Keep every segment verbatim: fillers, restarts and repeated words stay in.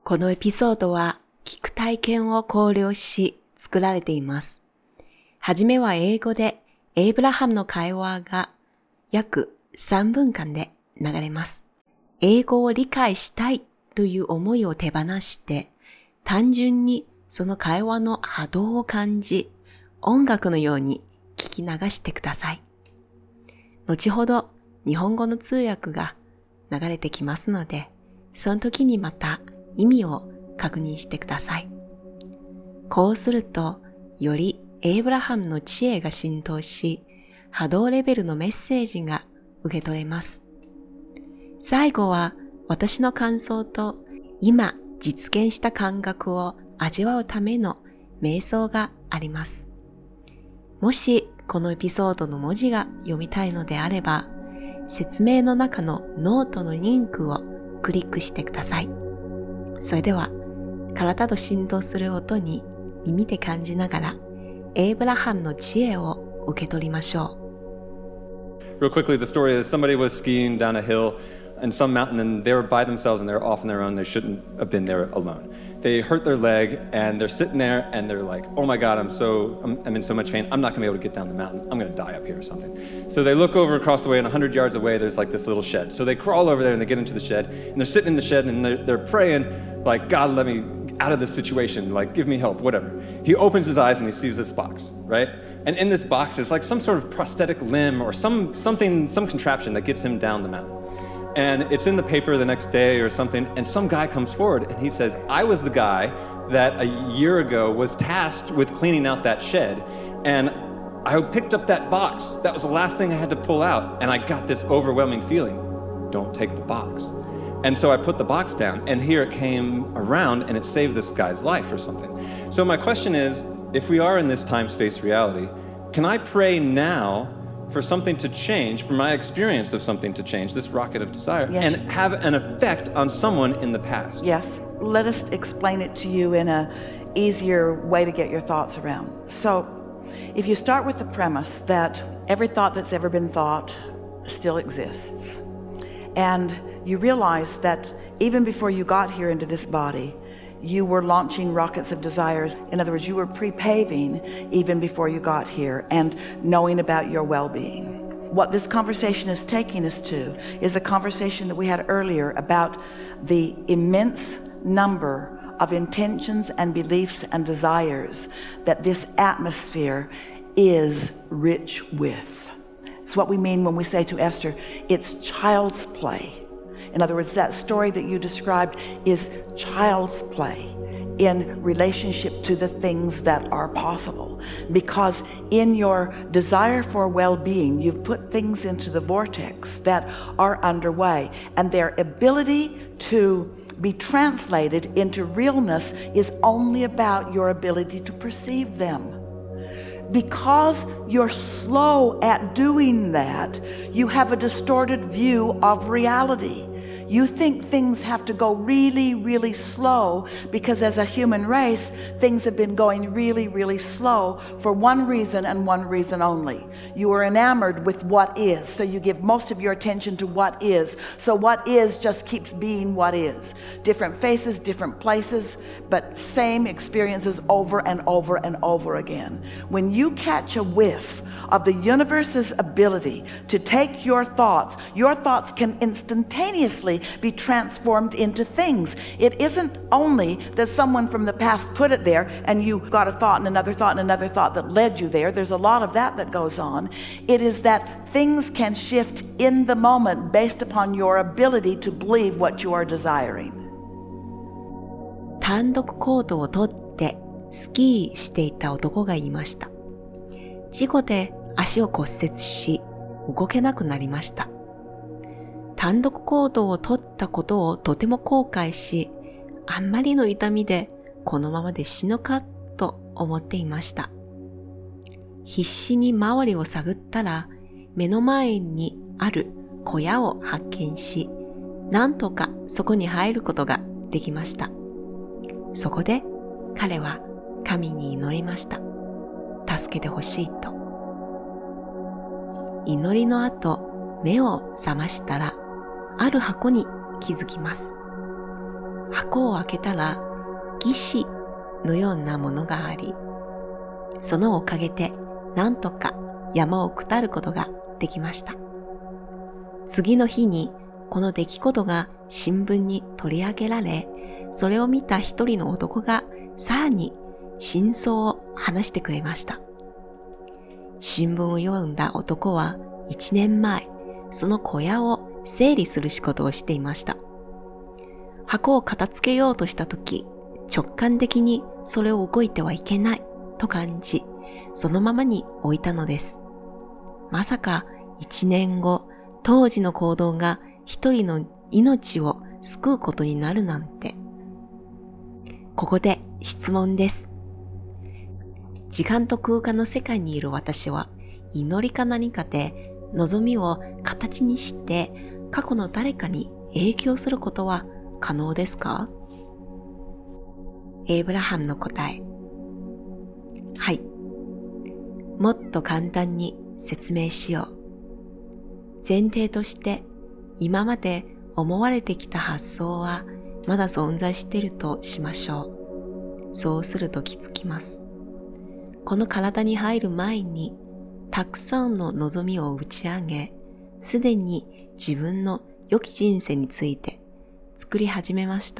このエピソードは聞く体験を考慮し作られています。はじめは英語でエイブラハムの会話が約さんぷんかんで流れます。英語を理解したいという思いを手放して、単純にその会話の波動を感じ、音楽のように聞き流してください。後ほど日本語の通訳が流れてきますので、その時にまた意味を確認してください。こうすると、よりエイブラハムの知恵が浸透し、波動レベルのメッセージが受け取れます。最後は私の感想と今実現した感覚を味わうための瞑想があります。もしこのエピソードの文字が読みたいのであれば、説明の中のノートのリンクをクリックしてください。それでは体と振動する音に耳で感じながらエイブラハムの知恵を受け取りましょう。Real quickly, the story is somebody was skiing down a hill in some mountain and they were by themselves and they were off on their own. They shouldn't have been there alone. They hurt their leg and they're sitting there and they're like, oh my God, I'm so, I'm, I'm in so much pain. I'm not gonna be able to get down the mountain. I'm gonna die up here or something. So they look over across the way and a hundred yards away, there's like this little shed. So they crawl over there and they get into the shed and they're sitting in the shed and they're, they're praying like, God, let me out of this situation. Like, give me help, whatever. He opens his eyes and he sees this box, right? And in this box is like some sort of prosthetic limb or some something, some contraption that gets him down the mountain. And it's in the paper the next day or something, and some guy comes forward and he says, I was the guy that a year ago was tasked with cleaning out that shed, and I picked up that box. That was the last thing I had to pull out, and I got this overwhelming feeling, don't take the box. And so I put the box down, and here it came around, and it saved this guy's life or something. So my question is, if we are in this time-space reality, can I pray now for something to change, for my experience of something to change, this rocket of desire, yes. and have an effect on someone in the past? Yes. Let us explain it to you in an easier way to get your thoughts around. So, if you start with the premise that every thought that's ever been thought still exists, and you realize that even before you got here into this body, you were launching rockets of desires. In other words, you were pre-paving even before you got here and knowing about your well-being. What this conversation is taking us to is a conversation that we had earlier about the immense number of intentions and beliefs and desires that this atmosphere is rich with. It's what we mean when we say to Esther, it's child's play. In other words, that story that you described is child's play in relationship to the things that are possible. Because in your desire for well-being, you've put things into the vortex that are underway, and their ability to be translated into realness is only about your ability to perceive them. Because you're slow at doing that, you have a distorted view of reality. You think things have to go really, really slow because as a human race, things have been going really, really slow for one reason and one reason only. You are enamored with what is, so you give most of your attention to what is. So what is just keeps being what is. Different faces, different places, but same experiences over and over and over again. When you catch a whiff of the universe's ability to take your thoughts, your thoughts can instantaneously be transformed into things. It isn't only that someone from the past put it there and you got a thought and another thought and another thought that led you there. There's a lot of that that goes on. It is that things can shift in the moment based upon your ability to believe what you are desiring. 単独行動をとってスキーしていた男がいました。事故で足を骨折し動けなくなりました。単独行動をとったことをとても後悔し、あんまりの痛みでこのままで死ぬかと思っていました。必死に周りを探ったら目の前にある小屋を発見し、なんとかそこに入ることができました。そこで彼は神に祈りました。助けてほしいと。祈りの後、目を覚ましたら、ある箱に気づきます。 箱を開けたら義士のようなものがあり、そのおかげでなんとか山を下ることができました。次の日にこの出来事が新聞に取り上げられ、それを見た一人の男がさらに真相を話してくれました。新聞を読んだ男は一年前、その小屋を整理する仕事をしていました。箱を片付けようとしたとき、直感的にそれを動いてはいけないと感じ、そのままに置いたのです。まさか一年後、当時の行動が一人の命を救うことになるなんて。ここで質問です。時間と空間の世界にいる私は、祈りか何かで望みを形にして過去の誰かに影響することは可能ですか？エイブラハムの答え。はい。もっと簡単に説明しよう。前提として今まで思われてきた発想はまだ存在しているとしましょう。そうすると気づきます。この体に入る前にたくさんの望みを打ち上げ、すでに自分の良き人生について作り始めました。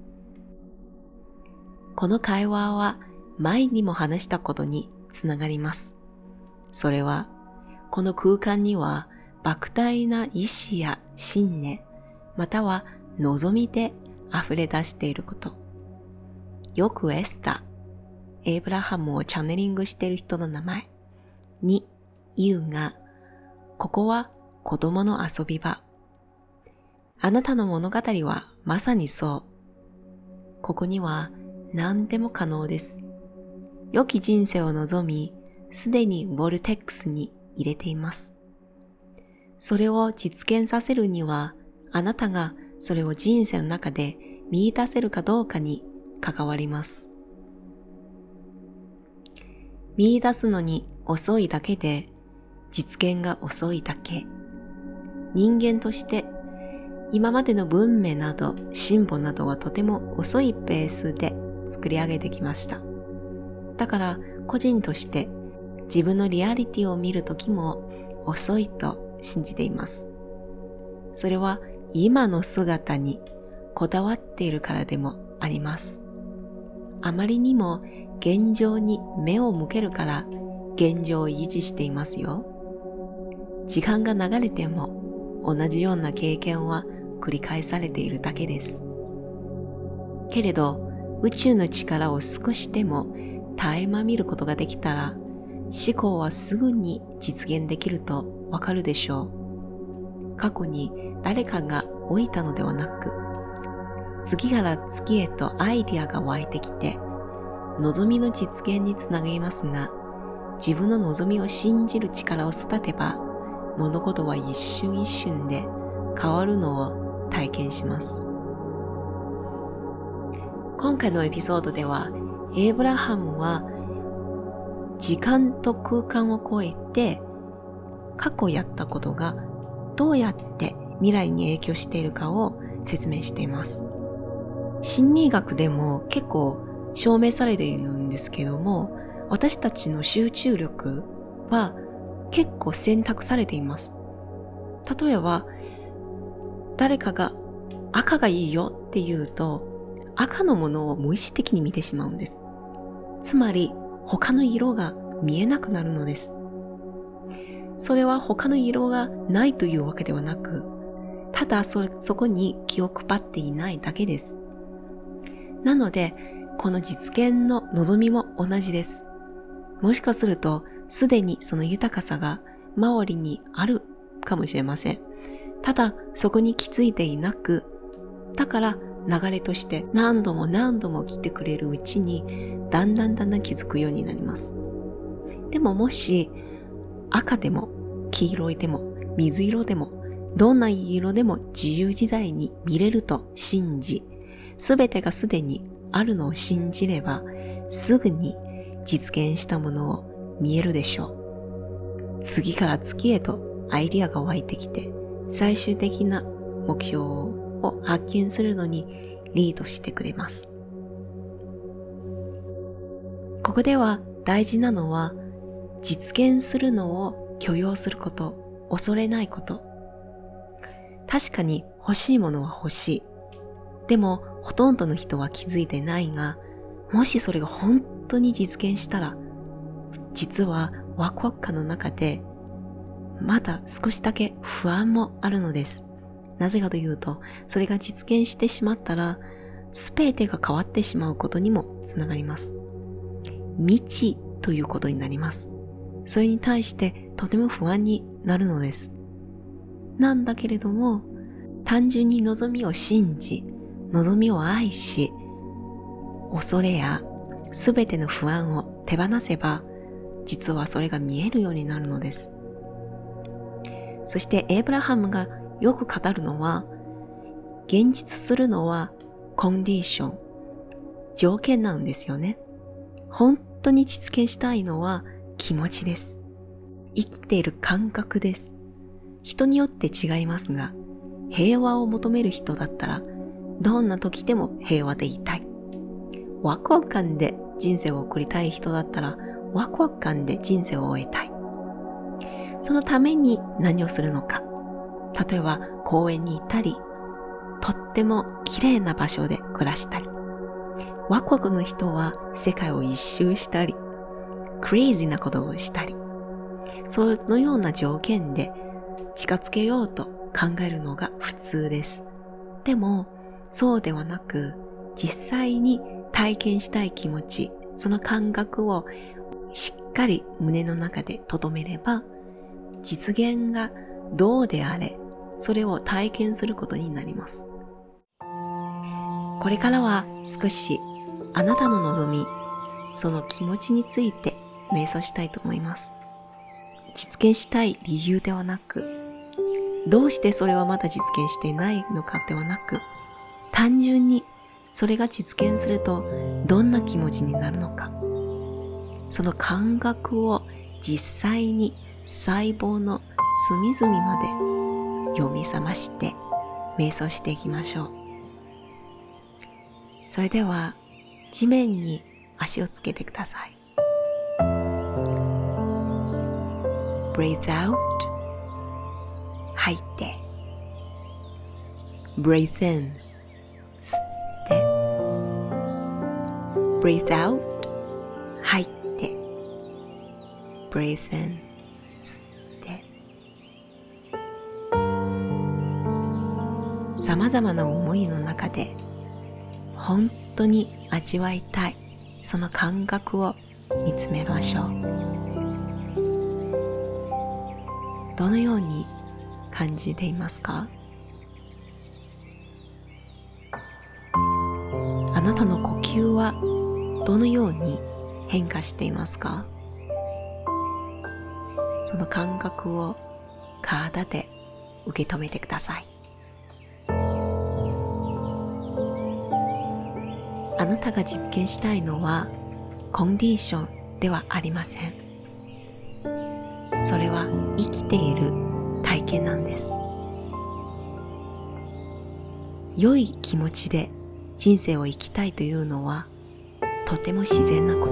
この会話は前にも話したことにつながります。それは、この空間には莫大な意志や信念、または望みで溢れ出していること。よくエスター、エイブラハムをチャネリングしている人の名前に言うが、ここは子供の遊び場。あなたの物語はまさにそう。ここには何でも可能です。良き人生を望み、すでにボルテックスに入れています。それを実現させるには、あなたがそれを人生の中で見出せるかどうかに関わります。見出すのに遅いだけで、実現が遅いだけ。人間として今までの文明など進歩などはとても遅いペースで作り上げてきました。だから個人として自分のリアリティを見るときも遅いと信じています。それは今の姿にこだわっているからでもあります。あまりにも現状に目を向けるから現状を維持していますよ。時間が流れても同じような経験は繰り返されているだけです。けれど宇宙の力を少しでも垣間見ることができたら思考はすぐに実現できるとわかるでしょう。過去に誰かが老いたのではなく、次から次へとアイディアが湧いてきて望みの実現につながりますが、自分の望みを信じる力を育てば物事は一瞬一瞬で変わるのを体験します。今回のエピソードではエイブラハムは時間と空間を超えて過去やったことがどうやって未来に影響しているかを説明しています。心理学でも結構証明されているんですけども、私たちの集中力は結構選択されています。例えば誰かが赤がいいよって言うと赤のものを無意識的に見てしまうんです。つまり他の色が見えなくなるのです。それは他の色がないというわけではなく、ただ そ, そこに気を配っていないだけです。なのでこの実現の望みも同じです。もしかするとすでにその豊かさが周りにあるかもしれません。ただそこに気づいていなく、だから流れとして何度も何度も来てくれるうちにだんだんだんだん気づくようになります。でももし赤でも黄色いでも水色でもどんな色でも自由自在に見れると信じ、すべてがすでにあるのを信じればすぐに実現したものを見えるでしょう。次から次へとアイディアが湧いてきて最終的な目標を発見するのにリードしてくれます。ここでは大事なのは、実現するのを許容すること、恐れないこと。確かに欲しいものは欲しい。でもほとんどの人は気づいてないが、もしそれが本当に実現したら、実はワクワク感の中でまだ少しだけ不安もあるのです。なぜかというと、それが実現してしまったら、すべてが変わってしまうことにもつながります。未知ということになります。それに対してとても不安になるのです。なんだけれども、単純に望みを信じ、望みを愛し、恐れやすべての不安を手放せば、実はそれが見えるようになるのです。そしてエイブラハムがよく語るのは、現実するのはコンディション、条件なんですよね。本当に実現したいのは気持ちです。生きている感覚です。人によって違いますが、平和を求める人だったら、どんな時でも平和でいたい。ワクワク感で人生を送りたい人だったら、ワクワク感で人生を終えたい。そのために何をするのか。例えば公園に行ったり、とっても綺麗な場所で暮らしたり。ワクワクの人は世界を一周したり、クレイジーなことをしたり、そのような条件で近づけようと考えるのが普通です。でも、そうではなく、実際に体験したい気持ち、その感覚をしっかり胸の中で留めれば、実現がどうであれ、それを体験することになります。これからは少しあなたの望み、その気持ちについて瞑想したいと思います。実現したい理由ではなく、どうしてそれはまだ実現していないのかではなく、単純にそれが実現するとどんな気持ちになるのか、その感覚を実際に細胞の隅々まで読み覚まして瞑想していきましょう。それでは地面に足をつけてください。Breathe out 吐いて Breathe in 吸って Breathe out 吐いて Breathe in 吸ってさまざまな思いの中で本当に味わいたいその感覚を見つめましょう。どのように感じていますか？あなたの呼吸はどのように変化していますか？その感覚を体で受け止めてください。あなたが実現したいのはコンディションではありません。それは生きている体験なんです。良い気持ちで人生を生きたいというのはとても自然なこと。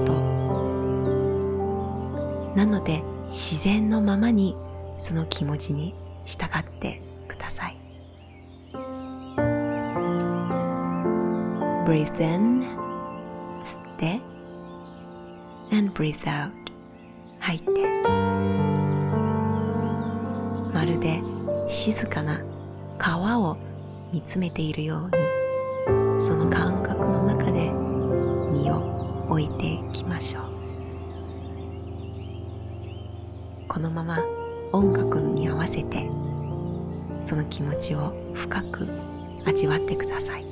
なので自然のままにその気持ちに従ってください。Breathe in 吸って and breathe out 吐いて、まるで静かな川を見つめているようにその感覚の中で身を置いていきましょう。このまま音楽に合わせてその気持ちを深く味わってください。